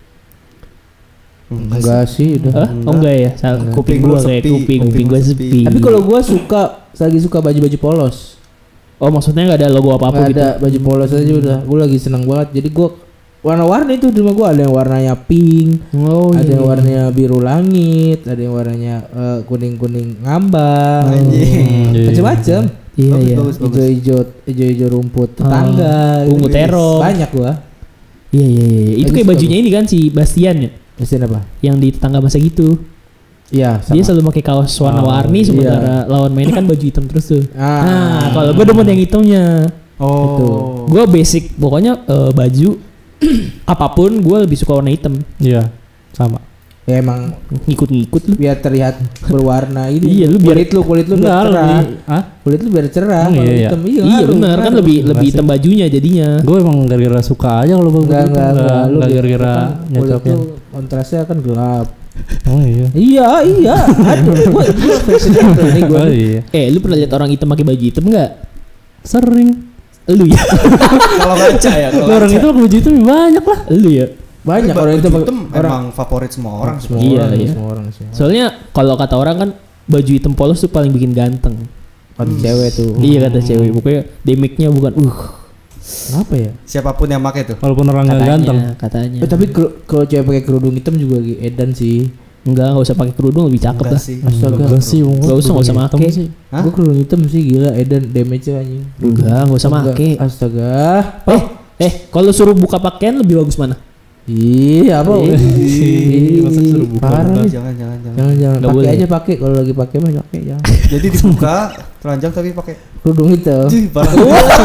Speaker 2: Enggak sih udah.
Speaker 5: Hah? Oh enggak ya? Kuping gua kayak kuping gua sepi.
Speaker 2: Tapi kalau gua lagi suka baju-baju polos.
Speaker 5: Oh maksudnya nggak ada logo apa-apa
Speaker 2: Nggak
Speaker 5: gitu?
Speaker 2: ada baju polos aja udah. Gua lagi seneng banget. Jadi gua warna-warni itu di rumah gua ada yang warnanya pink,
Speaker 5: Oh
Speaker 2: ada
Speaker 5: iya.
Speaker 2: yang warnanya biru langit, ada yang warnanya kuning-kuning ngambang.
Speaker 4: Anjing.
Speaker 2: Macam-macam.
Speaker 5: Iya iya.
Speaker 4: Bagus.
Speaker 2: Hijau-hijau rumput tetangga.
Speaker 5: ungu
Speaker 2: gitu.
Speaker 5: terong.
Speaker 2: Banyak gua.
Speaker 5: Iya. Itu
Speaker 2: Bagus,
Speaker 5: kayak bajunya ini kan si Bastian ya,
Speaker 2: Mesin apa?
Speaker 5: yang di tetangga masa gitu.
Speaker 2: Iya, sama.
Speaker 5: Dia selalu pakai kaos warna-warni sementara lawan mainnya kan baju hitam terus tuh. Nah, kalau gue demen yang hitamnya.
Speaker 4: Oh.
Speaker 5: Gue basic pokoknya baju apapun gue lebih suka warna hitam.
Speaker 3: Iya, sama.
Speaker 2: Ya emang
Speaker 5: Ngikut-ngikut lu.
Speaker 2: biar terlihat berwarna ini.
Speaker 5: Iya, lu biar-
Speaker 2: kulit lu biar
Speaker 3: Enggak,
Speaker 2: cerah.
Speaker 3: lebih. Hah?
Speaker 2: Kulit lu biar cerah.
Speaker 3: Emang
Speaker 2: kalau
Speaker 3: iya, iya.
Speaker 2: hitam.
Speaker 5: Iya
Speaker 2: ngaruh,
Speaker 5: benar kan
Speaker 2: ngaruh.
Speaker 5: lebih
Speaker 3: Enggak
Speaker 5: hitam
Speaker 3: sih.
Speaker 5: bajunya jadinya.
Speaker 3: Gue emang gara-gara suka aja kalau begitu.
Speaker 2: Enggak, lu
Speaker 3: Enggak
Speaker 2: biar-
Speaker 3: gara-gara
Speaker 2: kan kulit
Speaker 3: nyocoknya.
Speaker 2: lu kontrasnya kan gelap.
Speaker 3: Oh iya.
Speaker 2: Iya. Aduh, gua fashion itu nih gua.
Speaker 3: Oh iya.
Speaker 5: Lu pernah lihat orang hitam pakai baju hitam enggak?
Speaker 3: Sering.
Speaker 5: Lu ya.
Speaker 4: Kalau ngaca ya. Kalau
Speaker 3: Orang
Speaker 4: ngaca.
Speaker 3: itu pakai baju itu lebih banyak lah.
Speaker 5: Lu ya.
Speaker 2: Banyak
Speaker 4: Tapi
Speaker 2: orang itu
Speaker 4: baju hitam
Speaker 2: orang
Speaker 4: emang favorit semua orang.
Speaker 2: semua
Speaker 5: Iya,
Speaker 2: orang,
Speaker 5: iya.
Speaker 2: semua orang sih.
Speaker 5: Soalnya kalau kata orang kan baju hitam polos tuh paling bikin ganteng.
Speaker 2: Kata cewek tuh.
Speaker 5: Iya kata cewek. Pokoknya damage-nya bukan
Speaker 2: Kenapa ya?
Speaker 4: Siapapun yang pakai tuh.
Speaker 3: Walaupun orang nggak ganteng.
Speaker 5: katanya.
Speaker 2: Tapi kalau cewek pakai kerudung hitam juga lagi edan sih.
Speaker 5: Enggak usah pakai kerudung lebih cakep
Speaker 4: Enggak
Speaker 5: lah.
Speaker 4: sih.
Speaker 2: Astaga.
Speaker 3: Enggak sih,
Speaker 5: Nggak usah make.
Speaker 3: sih.
Speaker 4: Hah?
Speaker 2: Gua kerudung hitam sih gila edan damage-nya anjing.
Speaker 5: Enggak usah
Speaker 2: Enggak.
Speaker 5: make.
Speaker 2: Astaga.
Speaker 5: Kalau suruh buka pakaian lebih bagus mana?
Speaker 2: Iya apa?
Speaker 3: Masa suruh buka?
Speaker 2: Parah nih.
Speaker 4: Jangan.
Speaker 2: Jangan
Speaker 5: Nggak
Speaker 2: pakai
Speaker 5: boleh.
Speaker 2: aja pakai kalau lagi pakai mah pakai jangan.
Speaker 4: Jadi dibuka telanjang tapi pakai.
Speaker 2: Kerudung hitam.
Speaker 4: Ih, parah.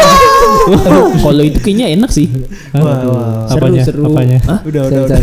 Speaker 5: Kalau itu kayaknya enak sih.
Speaker 4: Wah.
Speaker 3: Apanya?
Speaker 5: Seru.
Speaker 3: Apanya?
Speaker 5: Hah?
Speaker 4: Udah.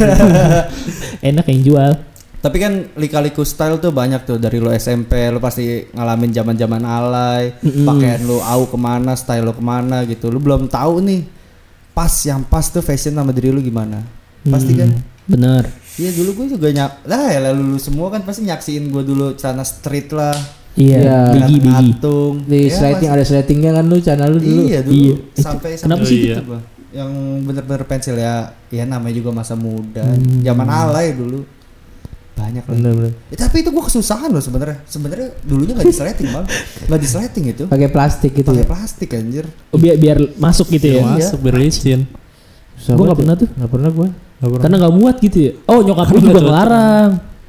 Speaker 5: Enak yang jual.
Speaker 4: Tapi kan lika-liku style tuh banyak tuh dari lo SMP, lo pasti ngalamin zaman-zaman alay, pakaian lo au kemana, style lo kemana gitu. Lo belum tahu nih yang pas tuh fashion sama diri lo gimana. Pasti kan?
Speaker 5: Bener.
Speaker 4: Iya dulu gue juga ya lu semua kan pasti nyaksiin gue dulu celana street lah,
Speaker 5: Iya. Bigi.
Speaker 4: ngatung.
Speaker 2: Di
Speaker 4: Ya,
Speaker 2: sliding
Speaker 4: pasti.
Speaker 2: ada slidingnya kan lu channel lu dulu.
Speaker 4: Iya dulu
Speaker 5: Iya.
Speaker 4: sampai
Speaker 5: Kenapa
Speaker 3: sih
Speaker 4: gitu
Speaker 3: gitu?
Speaker 4: gua. Yang bener-bener pensil ya namanya juga masa muda, zaman alay dulu banyak lah.
Speaker 2: Bener.
Speaker 4: Tapi itu gua kesusahan loh sebenarnya. Sebenarnya dulunya nggak di sliding bang, nggak di sliding itu,
Speaker 2: Pakai plastik gitu
Speaker 4: pakai
Speaker 2: ya.
Speaker 4: plastik anjir.
Speaker 5: Oh, biar masuk gitu ya.
Speaker 3: Masuk biar licin.
Speaker 2: Susah
Speaker 5: Gua nggak
Speaker 2: banget
Speaker 5: pernah
Speaker 2: ya.
Speaker 5: tuh.
Speaker 2: Nggak pernah gua.
Speaker 5: Karena nggak muat gitu ya. Oh nyokap gue juga ngelarang.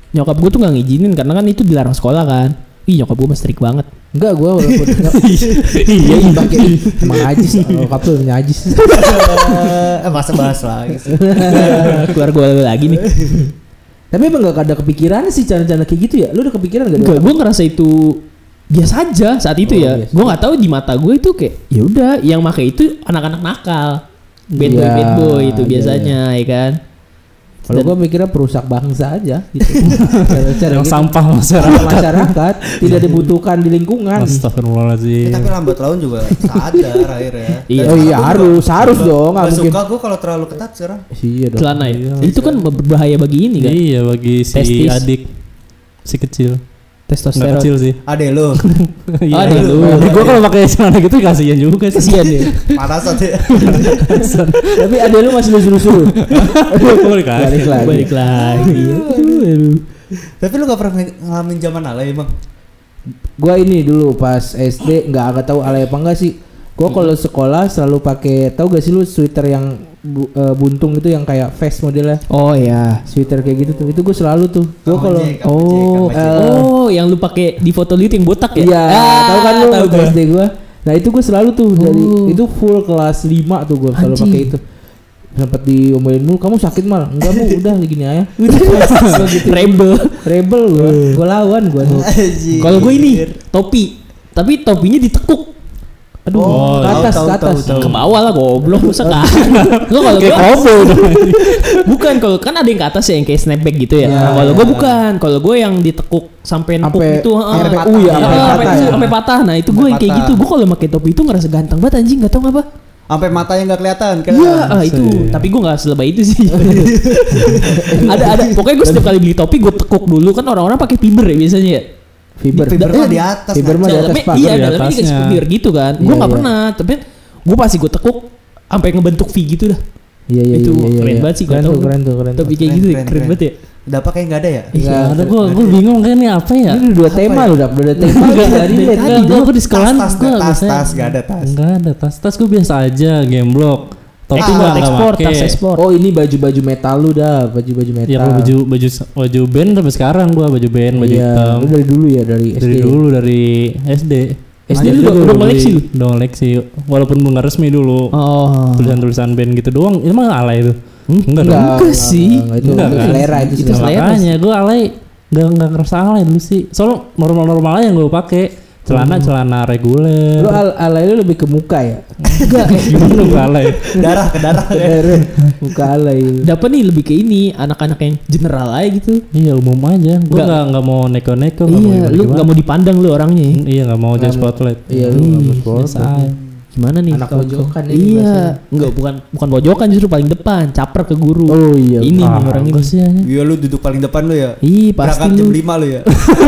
Speaker 5: Nyokap gue tuh nggak ngizinin karena kan itu dilarang sekolah kan. Ih nyokap gue mah strict banget.
Speaker 2: Enggak, gue walaupun iya pakai emang najis, nyokap tuh najis.
Speaker 4: Masa bahas lagi sih.
Speaker 5: Keluar gue lagi nih.
Speaker 2: Tapi emang gak ada kepikiran sih cara-cara kayak gitu ya? Lu udah kepikiran gak?
Speaker 5: Enggak, gue ngerasa itu biasa aja saat itu ya.
Speaker 2: Biasa.
Speaker 5: Gue nggak tahu di mata gue itu kayak ya udah yang pakai itu anak-anak nakal. Bad boy itu biasanya ya kan.
Speaker 2: Kalau gue mikirnya perusak bangsa aja gitu. Cara
Speaker 3: Yang
Speaker 2: gitu.
Speaker 3: sampah
Speaker 2: Masyarakat tidak dibutuhkan di lingkungan.
Speaker 3: Astagfirullahaladzim.
Speaker 4: Tapi lambat laun juga sadar akhirnya.
Speaker 5: Iya.
Speaker 2: Oh iya harus dong.
Speaker 4: Gak
Speaker 2: Gak mungkin.
Speaker 4: suka gue kalau terlalu ketat sekarang.
Speaker 2: Iya dong.
Speaker 5: Celana ya. Itu kan berbahaya bagi ini kan.
Speaker 3: Iya bagi si
Speaker 5: Testis.
Speaker 3: adik si kecil. Nggak
Speaker 5: Testosteron.
Speaker 3: kecil sih.
Speaker 4: Ade lo.
Speaker 3: Iya.
Speaker 5: Adek lu.
Speaker 3: Gue kalau pakai celana gitu kasihan juga sih.
Speaker 5: Kasian ya.
Speaker 4: Panas aja.
Speaker 2: Tapi ada lu masih lusuh-lusuh.
Speaker 3: Balik lagi.
Speaker 5: Balik lagi. Aduh.
Speaker 4: Tapi lu gak pernah ngalamin zaman alay emang?
Speaker 2: Gua ini dulu pas SD nggak tahu alay apa enggak sih. Gua kalau sekolah selalu pakai, tahu gak sih lu sweater yang buntung itu yang kayak vest modelnya.
Speaker 5: Oh ya.
Speaker 2: Sweater kayak gitu tuh. Itu gua selalu tuh. Gua kalau
Speaker 5: Oh, yang lu pakai di foto lu itu yang botak ya?
Speaker 2: iya, tahu kan lu
Speaker 5: tahu
Speaker 2: waktu
Speaker 5: gua.
Speaker 2: SD gua. Nah, itu gua selalu tuh dari itu full kelas 5 tuh gua selalu
Speaker 5: Anjing.
Speaker 2: pakai itu. Sempet diomelin mulu, kamu sakit mal? Enggak bu, udah gini aja. Rebel gua lawan gua tuh.
Speaker 5: Kalau gue ini topi, tapi topinya ditekuk.
Speaker 2: Aduh,
Speaker 3: Oh,
Speaker 2: ke atas,
Speaker 4: tahu,
Speaker 2: ke atas.
Speaker 4: tahu.
Speaker 5: Ke bawah lah goblok masa kan. Lo kalau
Speaker 3: Kayak
Speaker 5: gua
Speaker 3: kobo dong.
Speaker 5: bukan kalau kan ada yang ke atas ya yang kayak snapback gitu ya.
Speaker 2: Ya,
Speaker 5: Nah, kalau
Speaker 2: ya.
Speaker 5: gue bukan, kalau gue yang ditekuk sampai nepuk
Speaker 2: Sampai
Speaker 5: itu,
Speaker 2: sampai
Speaker 4: patah.
Speaker 2: U ya,
Speaker 4: Iya,
Speaker 2: sampai patah ya.
Speaker 5: sampai patah. Nah, itu gue
Speaker 4: Sampai
Speaker 5: yang kayak
Speaker 4: patah.
Speaker 5: gitu. Gue kalau pakai topi itu ngerasa ganteng banget anjing, enggak tahu ngapa.
Speaker 4: Sampai matanya nggak kelihatan kan?
Speaker 5: Iya, itu. Tapi gue nggak selebay itu sih. ada. Pokoknya gue setiap kali beli topi gue tekuk dulu kan orang-orang pakai fiber ya biasanya ya.
Speaker 2: Fiber.
Speaker 4: Fiber mah di atas.
Speaker 2: Fiber mah di atas,
Speaker 5: Dalamnya
Speaker 2: Pak.
Speaker 5: iya,
Speaker 3: Di
Speaker 5: dalamnya dikasih
Speaker 3: atasnya.
Speaker 5: fiber gitu kan. Gue
Speaker 2: Iya,
Speaker 5: nggak
Speaker 2: iya.
Speaker 5: pernah, tapi gue pasti gue tekuk sampai ngebentuk V gitu dah.
Speaker 2: Iya
Speaker 5: Itu keren banget sih,
Speaker 2: keren
Speaker 5: gak
Speaker 2: tuh,
Speaker 5: tau.
Speaker 2: keren tuh.
Speaker 5: Topi kayak
Speaker 4: Keren,
Speaker 5: gitu
Speaker 4: keren,
Speaker 5: keren
Speaker 4: keren.
Speaker 5: banget ya.
Speaker 4: Udah pakai nggak ada ya?
Speaker 2: Iya,
Speaker 3: Ada gue bingung kan ini apa ya?
Speaker 2: Ini udah tema lu, udah tema dari
Speaker 3: Enggak, gue di sekolahan
Speaker 4: Tas nggak ada tas.
Speaker 3: Enggak ada tas gue biasa aja game block. Topi nggak
Speaker 5: ekspor,
Speaker 3: pakai.
Speaker 5: tas ekspor.
Speaker 2: Oh, ini baju-baju metal lu dah, baju-baju metal.
Speaker 3: Iya baju band sampai sekarang gue baju band baju
Speaker 2: Iya,
Speaker 3: hitam.
Speaker 2: lu dari dulu ya, dari SD.
Speaker 3: Dari dulu dari SD.
Speaker 5: SD
Speaker 3: Aja
Speaker 5: lu
Speaker 3: gua
Speaker 5: udah
Speaker 3: beli.
Speaker 5: koleksi lu?
Speaker 3: Udah koleksi. Walaupun belum nggak resmi dulu.
Speaker 5: Oh.
Speaker 3: Tulisan-tulisan band gitu doang. Itu mah alay itu. Enggak dong.
Speaker 5: Enggak sih.
Speaker 2: Itu
Speaker 3: Enggak kan?
Speaker 2: selera itu
Speaker 5: Itu
Speaker 2: selera.
Speaker 5: selera.
Speaker 3: Makanya gue alay nggak ngerasa alay dulu sih. Soalnya normal-normal aja yang gue pakai. Celana reguler.
Speaker 2: Lu alay lu lebih ke muka ya?
Speaker 5: Enggak.
Speaker 3: Gimana lu nggak alay?
Speaker 4: Darah ke darah.
Speaker 2: Muka alay.
Speaker 5: Dapat nih lebih ke ini anak-anak yang general aja gitu.
Speaker 3: Iya umum aja. Gue
Speaker 5: Nggak.
Speaker 3: nggak mau neko-neko.
Speaker 5: Iya, lu nggak mau dipandang lu orangnya.
Speaker 3: Iya nggak mau jadi spotlight.
Speaker 2: Iya, lu nggak mau sport.
Speaker 3: Biasa aja.
Speaker 5: Gimana nih?
Speaker 2: Anak
Speaker 5: kawan-kawan?
Speaker 2: pojokan ini
Speaker 5: Iya,
Speaker 2: bahasanya.
Speaker 5: enggak bukan pojokan justru paling depan, caper ke guru.
Speaker 2: Oh iya.
Speaker 5: Ini
Speaker 3: Ah,
Speaker 5: nih orang ini.
Speaker 3: gua sih aja.
Speaker 4: Iya lu duduk paling depan lu ya.
Speaker 5: Ih, pasti
Speaker 4: Berangkat jam
Speaker 5: lu.
Speaker 4: 5 lu ya.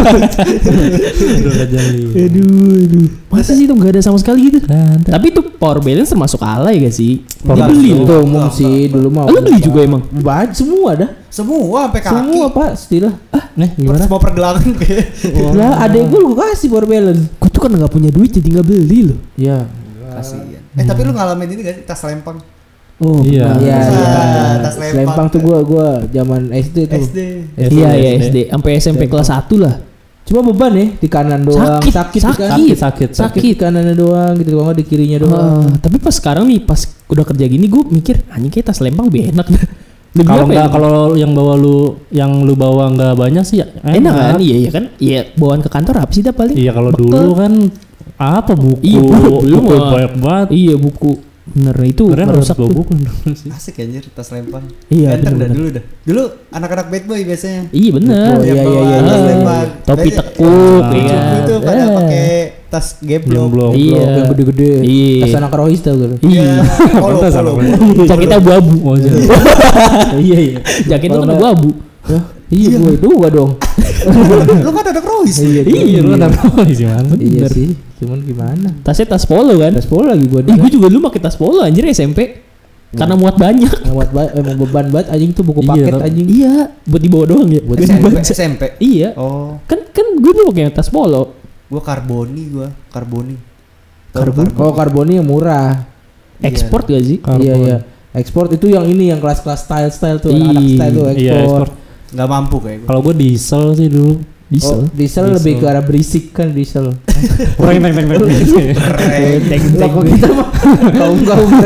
Speaker 3: Udah nggak jadi.
Speaker 5: Aduh. Masa sih itu enggak ada sama sekali gitu?
Speaker 3: Nggak ada.
Speaker 5: Tapi itu power balance termasuk alay gak sih? Dia
Speaker 4: Enggak,
Speaker 5: beli
Speaker 4: enggak.
Speaker 5: loh.
Speaker 2: Itu umum sih dulu mah.
Speaker 5: Lu beli juga emang?
Speaker 2: Baju semua dah.
Speaker 4: Semua sampai kaki.
Speaker 2: Semua Pak, istilah.
Speaker 3: Nih gimana?
Speaker 4: Semua pergelangan kayak.
Speaker 2: Lah, adek gue kasih power balance.
Speaker 5: Gue tuh kan nggak punya duit jadi nggak beli loh.
Speaker 2: Iya.
Speaker 4: Kasihan. Tapi lu ngalamin ini gak sih tas lempang?
Speaker 5: Oh
Speaker 3: Iya.
Speaker 5: benar.
Speaker 2: Iya,
Speaker 4: Ah, tas
Speaker 2: iya.
Speaker 4: lempang.
Speaker 2: Lempang tuh gua zaman SD tuh.
Speaker 4: SD.
Speaker 5: Iya iya SD sampai SMP kelas 1 lah.
Speaker 2: Cuma beban ya di kanan doang.
Speaker 5: Sakit,
Speaker 2: kan?
Speaker 3: Sakit.
Speaker 2: Sakit di kanannya doang gitu, kalau nggak di kirinya doang.
Speaker 5: Tapi pas sekarang nih pas udah kerja gini gue mikir anjing kayak tas lempang lebih enak dah. Lebih
Speaker 3: Kalau
Speaker 5: apa ya?
Speaker 3: nggak kalau yang lu bawa nggak banyak sih ya
Speaker 5: enak kan? Iya kan? Iya bawaan ke kantor apa sih dah paling?
Speaker 3: Iya kalau
Speaker 5: Bekal.
Speaker 3: dulu kan apa buku
Speaker 5: Iya, belum
Speaker 3: buku
Speaker 5: ah.
Speaker 3: banyak banget.
Speaker 5: Iya buku. Bener itu
Speaker 3: Keren harus
Speaker 5: merusak
Speaker 3: bawa
Speaker 5: tuh.
Speaker 3: buku dulu sih.
Speaker 4: Asik anjir tas lempang.
Speaker 5: Iya,
Speaker 4: Enter dah
Speaker 5: bener-bener.
Speaker 4: dulu dah. Dulu anak-anak bad boy biasanya.
Speaker 5: Iya bener.
Speaker 2: Oh,
Speaker 4: Yang
Speaker 2: iya,
Speaker 4: bawa
Speaker 2: iya,
Speaker 4: tas
Speaker 2: iya.
Speaker 4: lempang.
Speaker 5: Topi
Speaker 4: Biasanya-
Speaker 5: tekuk,
Speaker 3: Ah.
Speaker 5: iya.
Speaker 4: Itu pada
Speaker 5: Eh.
Speaker 4: pakai tas geblok.
Speaker 3: Gemblok.
Speaker 5: Iya.
Speaker 2: Yang gede-gede.
Speaker 5: Iya.
Speaker 2: Tas anak rohis tau gitu.
Speaker 5: Iya.
Speaker 4: Polo,
Speaker 3: Tas
Speaker 4: polo.
Speaker 3: apa?
Speaker 5: Jaketnya abu-abu.
Speaker 3: Oh, iya.
Speaker 5: Iya iya. Jaketnya kan
Speaker 2: Kalau
Speaker 5: abu-abu.
Speaker 2: Iya, gue dua dong.
Speaker 4: Lu kan anak rohis.
Speaker 3: Iya lu kan apa sih man?
Speaker 2: Iya sih. Cuman gimana?
Speaker 5: Tasnya tas polo kan?
Speaker 2: Tas polo lagi buat
Speaker 5: Gue juga dulu pakai tas polo anjir SMP. Karena muat banyak.
Speaker 2: emang beban banget anjing tuh buku
Speaker 3: Iya,
Speaker 2: paket
Speaker 3: kan?
Speaker 2: anjing.
Speaker 5: Iya, buat dibawa doang ya.
Speaker 2: Buat
Speaker 4: SMP.
Speaker 5: Iya.
Speaker 4: Oh,
Speaker 5: Kan gue dulu pakai tas polo.
Speaker 4: gua karboni.
Speaker 2: Oh, karboni yang murah.
Speaker 5: Ekspor gak sih?
Speaker 3: Karbon.
Speaker 2: Iya iya. Ekspor itu yang ini yang kelas-kelas style tuh,
Speaker 5: Ih,
Speaker 2: anak style tuh
Speaker 3: Iya,
Speaker 2: ekspor.
Speaker 3: ekspor.
Speaker 4: Nggak mampu kayak gue.
Speaker 3: Kalau gue diesel sih dulu.
Speaker 2: Oh, diesel lebih ke arah berisik kan diesel.
Speaker 3: Kurang teng.
Speaker 2: Kok kita mah kaum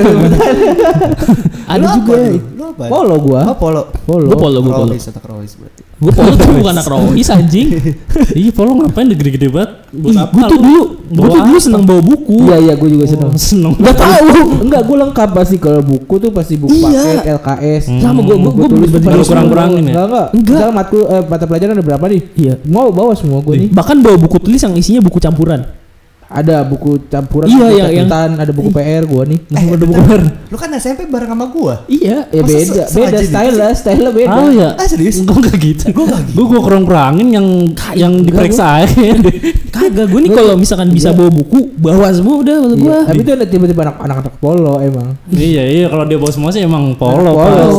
Speaker 2: ada
Speaker 4: Lu
Speaker 2: juga.
Speaker 4: apa, lu apa?
Speaker 2: Polo gua.
Speaker 4: Oh, polo.
Speaker 5: Gue polo.
Speaker 4: Rohis atau Rohis berarti.
Speaker 5: Gue polo tuh bukan anak rohis anjing.
Speaker 3: Iya, polo ngapain gede-gede banget? Buat apa?
Speaker 5: Gue tuh dulu seneng bawa buku.
Speaker 2: Iya gue juga seneng.
Speaker 3: Seneng.
Speaker 2: Gak tahu. Enggak, gue lengkap pasti kalau buku tuh pasti buku
Speaker 5: Iya.
Speaker 2: paket LKS.
Speaker 5: Sama gue
Speaker 2: tulis
Speaker 3: Kalau kurang-kurangin ya?
Speaker 2: Enggak. Misalnya mata pelajaran ada berapa nih?
Speaker 5: Iya.
Speaker 2: Mau bawa semua gue nih.
Speaker 5: Bahkan bawa buku tulis yang isinya buku campuran.
Speaker 2: Ada buku campuran,
Speaker 5: Iya,
Speaker 2: buku
Speaker 5: yang
Speaker 2: catatan, ada buku PR gua nih.
Speaker 3: Ada buku baru.
Speaker 4: Lu kan SMP bareng sama gua.
Speaker 5: Iya.
Speaker 2: Ya
Speaker 4: Masa
Speaker 2: beda
Speaker 4: sengaja
Speaker 2: style beda.
Speaker 3: Oh ya.
Speaker 4: Ah, serius?
Speaker 3: Gue gak gitu. Gue kurang-kurangin yang diperiksa aja.
Speaker 5: Kagak, gue nih kalau misalkan bisa bawa buku, bawa semua udah maksud gue.
Speaker 2: Tapi itu ada tiba-tiba anak-anak polo emang.
Speaker 3: Iya kalau dia bawa semua sih emang polo.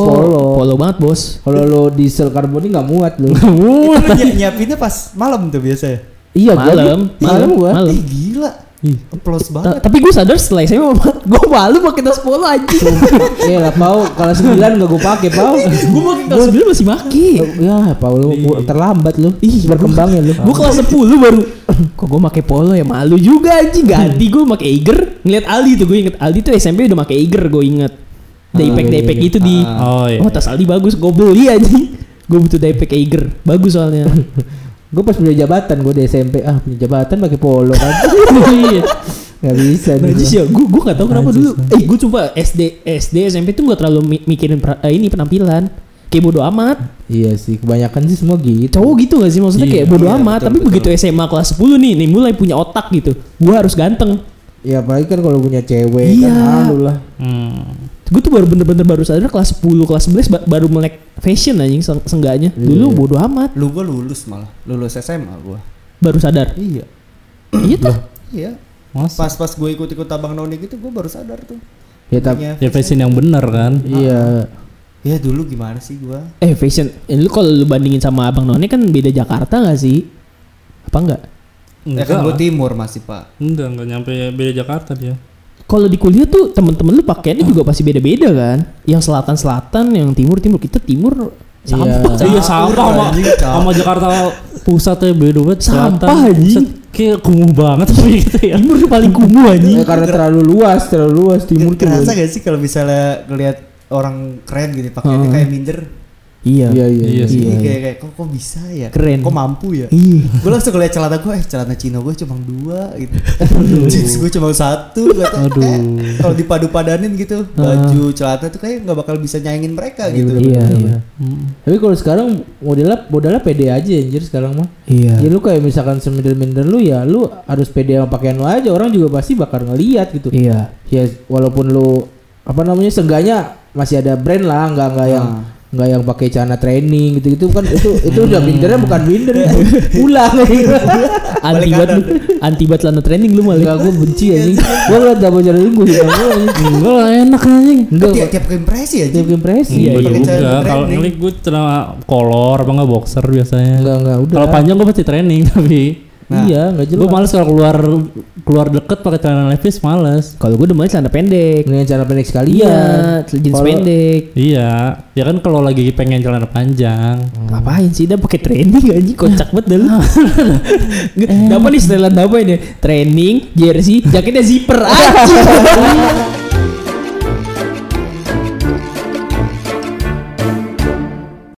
Speaker 5: Polo banget bos.
Speaker 2: Kalau lo diesel karbon ini nggak muat lo.
Speaker 4: Itu lu nyiapinnya pas malam tuh biasa ya?
Speaker 2: Iya,
Speaker 5: Malam
Speaker 2: gua.
Speaker 5: malam.
Speaker 4: Ih, gila. Plus banget.
Speaker 5: Tapi gue sadar setelah saya gue malu pakai tas polo anjing.
Speaker 2: Iya lah, Pau. Kalau 9 nggak gue pakai, Pau.
Speaker 5: Gue pakai kelas 9 masih maki.
Speaker 2: Ya, Pau lu terlambat lu. Berkembangnya lu.
Speaker 5: Gue kelas 10 baru. Kok gue pakai polo ya, malu juga anjing. Ganti gue pakai Eiger. Ngeliat Aldi tuh, gue inget Aldi tuh SMP udah pakai Eiger, gue inget. Daypack gitu di.
Speaker 3: Oh iya.
Speaker 5: Oh, tas Aldi bagus, gue beli anjing. Gue butuh daypack Eiger, bagus soalnya.
Speaker 2: Gue pas punya jabatan, gue di SMP punya jabatan pakai polo kan.
Speaker 5: Iya.
Speaker 2: Gak bisa nih.
Speaker 5: Najis ya, gue gak tau kenapa dulu. Gue coba SD SMP tuh gak terlalu mikirin ini penampilan. Kayak bodo amat.
Speaker 2: Iya sih, kebanyakan sih semua gitu.
Speaker 5: Cowok gitu gak sih, maksudnya kayak bodo
Speaker 4: Iya,
Speaker 5: amat.
Speaker 4: betul,
Speaker 5: Tapi
Speaker 4: betul.
Speaker 5: begitu SMA kelas 10 nih mulai punya otak gitu. Gue harus ganteng.
Speaker 2: Ya apalagi kan kalau punya cewek
Speaker 5: Iya.
Speaker 2: kan malu lah.
Speaker 5: Gue tuh bener-bener baru sadar kelas 10, kelas 11 baru melek fashion anjing seenggaknya. Dulu bodo amat.
Speaker 4: Lu gua lulus malah. Lulus SMA gua.
Speaker 5: Baru sadar.
Speaker 4: Iya.
Speaker 5: Iya tuh.
Speaker 4: Iya.
Speaker 3: Masa?
Speaker 4: Pas gue ikut-ikut Abang Noni gitu gua baru sadar tuh.
Speaker 2: Ya tapi
Speaker 4: Punya
Speaker 3: Ya fashion yang bener kan.
Speaker 2: iya.
Speaker 4: Ya dulu gimana sih gua?
Speaker 5: Fashion. Lu kalau lu bandingin sama Abang None kan beda Jakarta gak sih? Apa enggak?
Speaker 4: Ya kan gua timur masih, Pak.
Speaker 3: Enggak nyampe beda Jakarta dia.
Speaker 5: Kalau di kuliah tuh temen-temen lu pakaiannya juga pasti beda-beda kan? Yang selatan-selatan, yang timur-timur. Kita timur sampah.
Speaker 3: Iya sampah sama Jakarta pusat ya beda banget.
Speaker 5: Sampah,
Speaker 3: Selatan,
Speaker 5: anjing.
Speaker 3: pusat kayak kumuh banget gitu ya.
Speaker 5: Timur tuh paling kumuh anjing.
Speaker 2: Karena terlalu luas timur tuh.
Speaker 4: Kerasa gak sih kalau misalnya ngelihat orang keren gitu pakaiannya kayak minder.
Speaker 5: Iya.
Speaker 3: Iya sih.
Speaker 4: Ini kayak kok bisa ya?
Speaker 5: Keren.
Speaker 4: Kok mampu ya?
Speaker 5: Iya.
Speaker 4: Gue langsung ngeliat celana gue, celana Cino gue cuma 2 gitu. Jeans gue cuma 1 kata. Kalau dipadu-padanin gitu, baju celana tuh kayak nggak bakal bisa nyaingin mereka gitu.
Speaker 5: Iya.
Speaker 2: Tapi kalau sekarang modelnya pede aja anjir sekarang mah.
Speaker 5: Iya.
Speaker 2: Ya lu kayak misalkan seminder-minder lu ya lu harus pede sama pakaian lu aja, orang juga pasti bakal ngeliat gitu.
Speaker 5: Iya.
Speaker 2: Ya walaupun lu seenggaknya masih ada brand lah, nggak yang pakai celana training gitu kan itu udah mindernya bukan minder ya. Ulang
Speaker 5: Anti banget celana training lu malah.
Speaker 2: Enggak, gue benci anjing. Gue ngeliat double training gue gitu.
Speaker 3: Enggak enak anjing.
Speaker 2: Enggak,
Speaker 4: Tiap ke impresi aja.
Speaker 2: tiap impresi.
Speaker 3: Iya
Speaker 4: pakai
Speaker 3: juga.
Speaker 4: celana
Speaker 3: Kalau
Speaker 4: training.
Speaker 3: ngelik gue celana kolor apa enggak boxer biasanya.
Speaker 2: Enggak udah.
Speaker 3: Kalau panjang gue pasti training tapi
Speaker 2: Iya, enggak jelas.
Speaker 3: gue males kalau keluar deket pakai celana levis males.
Speaker 5: Kalau gue demen celana pendek.
Speaker 2: Mendingan celana pendek sekalian.
Speaker 5: Iya, jeans
Speaker 2: Kalau-
Speaker 5: pendek.
Speaker 3: Iya, ya kan kalau lagi pengen celana panjang.
Speaker 5: Ngapain sih dia pakai training anjing, kocak banget dah lu. Apa nih setelan apa ini? Training, jersey, jaketnya zipper anjing.